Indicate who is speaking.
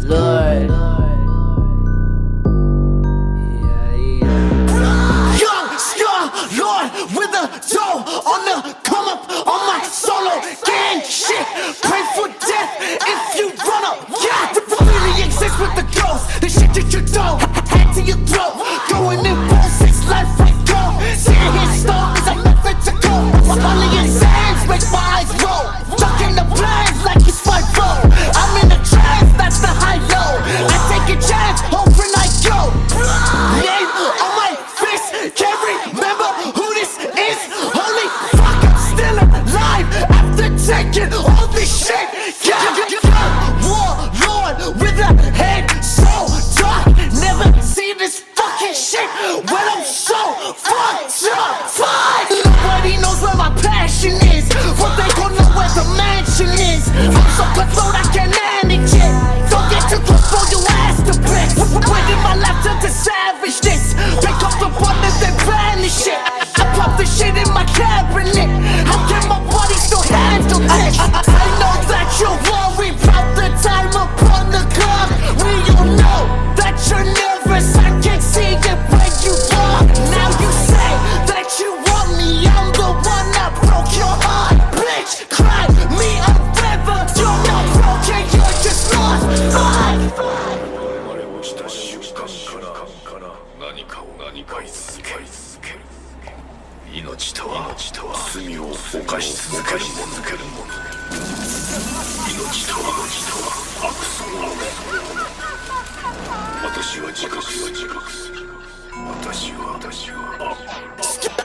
Speaker 1: Lord.
Speaker 2: Young Scar Lord with a dough on the come up on my solo gang shit. Pray for death if you run up. Yeah, really exist with the ghost. The shit that you don't hand to your throat. Going in bullshit's life right go. Seeing his stories I'm nothing to go. Only in sands make my eyes roll. Ducking the blinds like it's my fault. I'm in a trance, that's the high low. I take a chance, hoping I go. Name on my fist, can't remember who this is. Holy fuck, I'm still alive after taking all this shit. Warlord with a head so dark. Never see this fucking shit when I'm so fucked up. Fuck! Nobody knows where my passion is, but they gon' know where the mansion is. I'm so cutthroat I can't manage it. Don't get too close for your ass to blitz. When did my life turn to savageness? Pick up the button and then banish it. I pop the shit in my cabinet. How can my body still handle this? I know that you're worried about the time upon the clock. We all know that you're nervous. I can see it when you walk. Now you say that you want me. I'm the one that broke your heart. Bitch, cry me a river. You're not broken, you're just lost. Fuck!
Speaker 3: 我々をした瞬間から何かを続ける命とは罪を犯し続けるもの命とは悪そのもの私は自覚する私は